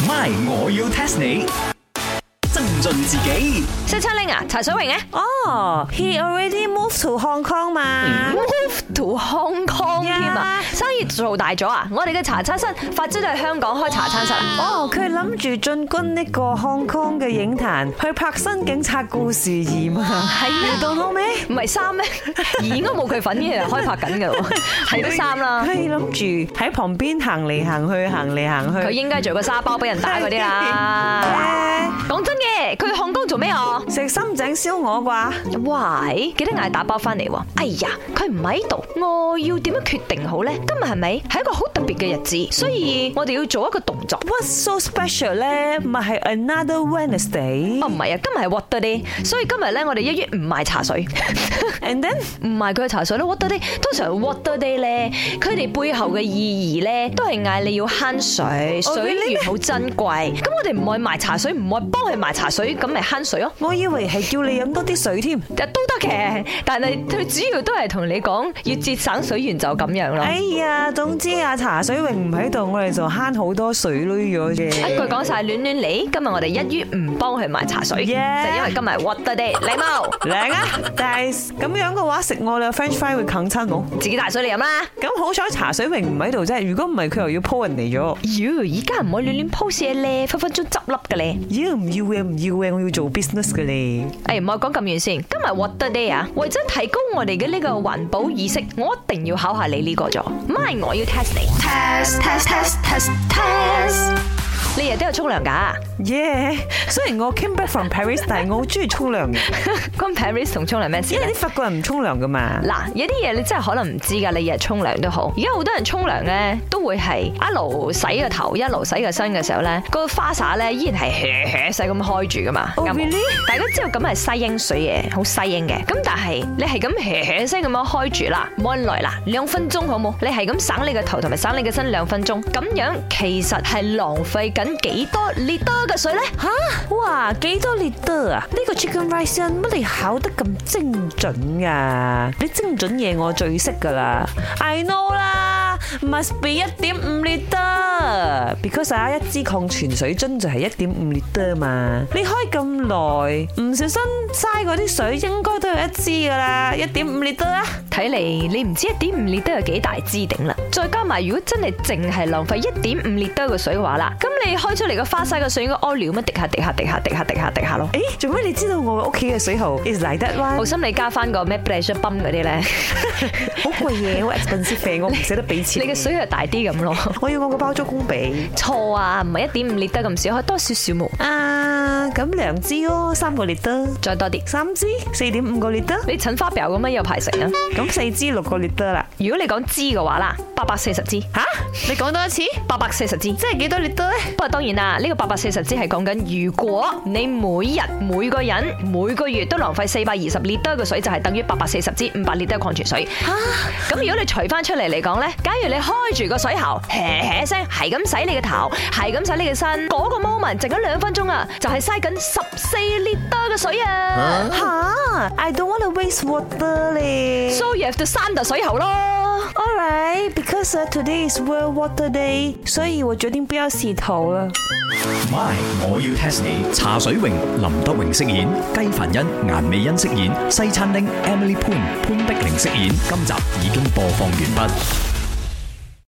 My， 我要 test 你。增進自己。 西餐廳啊，茶水榮咧。 哦，he already moved to Hong Kong 嘛 Move to Hong Kong 添啊，生意做大咗啊！我哋嘅茶餐室發展到去香港開茶餐室啊。 哦，佢諗住進軍呢個 Hong Kong 嘅影壇，去拍新警察故事2嘛？ 係咩？ 到好未？ 唔係3咩？2應該冇佢份嘅，開拍緊嘅喎，係都3啦。 佢諗住喺旁邊行嚟行去，行嚟行去。 佢應該做個沙包俾人打嗰啲啦。講真嘅，佢去 Hong Kong做咩啊？ 食深井燒鵝啩？ 喂，記得嗌打包翻嚟喎。哎呀，佢唔喺度，我要點樣決定好咧？今日係咪係一個好特別嘅日子？所以我哋要做一個動作。 What's so special 咧？咪係 another Wednesday？ 哦，唔係啊，今日係 Water Day，所以今日咧我哋1月唔賣茶水。 And then 唔賣佢嘅茶水咯 ，Water Day 通常 Water Day 咧，佢哋背後嘅意義咧，都係嗌你要慳水，水源好珍貴。咁我哋唔愛賣茶水，唔愛幫佢賣茶水，咁咪慳水咯。 我以為係叫你飲多啲水添。 都得嘅，但係佢主要都係同你講要節省水源就咁樣咯。 哎呀，總之啊，茶水榮唔喺度，我哋就慳好多水咯咗嘅。 一句講晒亂亂嚟，今日我哋1月唔幫佢賣茶水，就因為今日 Water Day，禮貌靚啊！但係咁樣嘅話，食我哋 French fry 會啃親冇？ 自己帶水嚟飲啦。 咁好彩茶水榮唔喺度啫，如果唔係佢又要 po 人嚟咗。 妖，而家唔可以亂亂 post 嘢咧，分分鐘執笠嘅咧。 妖唔要嘅唔要嘅，我要做 business 嘅咧。 誒，唔好講咁遠先，今日 Water Day 啊，為咗提高我哋嘅呢個環保意識，我一定要考下你呢個咗。MY，我要 test 你。test。你日都有沖涼㗎？ 耶！雖然我 came back from Paris， 但係我好中意沖涼嘅。 關 Paris 同沖涼咩事？ 因為啲法國人唔沖涼噶嘛。 嗱，有啲嘢你真係可能唔知㗎，你日日沖涼都好。而家好多人沖涼咧，都會係一路洗個頭，一路洗個身嘅時候咧，個花灑咧依然係細咁開住噶嘛。大家知道咁係西英水嘅，好西英嘅。咁但係你係咁聲咁樣開住啦，冇人來啦，2分鐘好冇？你係咁省你個頭同埋省你個身2分鐘，咁樣其實係浪費緊幾多 liter 嘅水咧？ 吓，哇，幾多 liter 啊？呢個 chicken rice 乜你考得咁精準噶？你精準嘢我最識噶啦 ，I know 啦 ，must be 1.5 liter，because 一支礦泉水樽就係1.5 liter 嘛。你開咁耐，唔小心嘥嗰啲水，應該都有1支噶啦，1.5 liter 啊。 睇嚟你唔知1.5 liter 有幾大支頂啦，再加埋如果真係淨係浪費1.5 liter 嘅水嘅話啦，咁你開出嚟個花灑嘅水應該屙尿咩？滴下咯。 誒，做咩你知道我屋企嘅水喉 is like that one？ 好心你加翻個咩 pressure pump 嗰啲咧， 好貴嘢，好 expensive， 我唔捨得俾錢。 你嘅水係大啲咁咯。 我要我個包租公俾。 錯啊，唔係1.5 liter 咁少，可以多少少冇。 啊，咁2支咯，3個 liter， 再多啲 3支4.5個 liter。 你趁花表咁樣有排食啊？ 咁4支6個 liter 啦。 如果你講支嘅話啦，840支。 吓？你講多一次 ？840支， 即係幾多 liter 咧？ 不過當然啦，呢個840支係講緊如果你每個人每個月都浪費420 liter 嘅水，就係等於840支500 liter 礦泉水。咁如果你除翻出嚟嚟講咧，假如你開住個水喉，聲係咁洗你嘅頭，係咁洗你嘅身，嗰個 moment 剩咗2分鐘啊，就係嘥緊14 liter 嘅水啊！ 吓 ，I don't want to waste water 咧。 So you have to 閂度水喉咯。 Alright, because today is World Water Day， 所以我決定不要洗頭了。 MY， 我要 test 你。茶水榮、林德榮飾演，雞凡欣、顏美欣飾演，西餐廳 Emily Poon 潘碧玲飾演。今集已經播放完畢。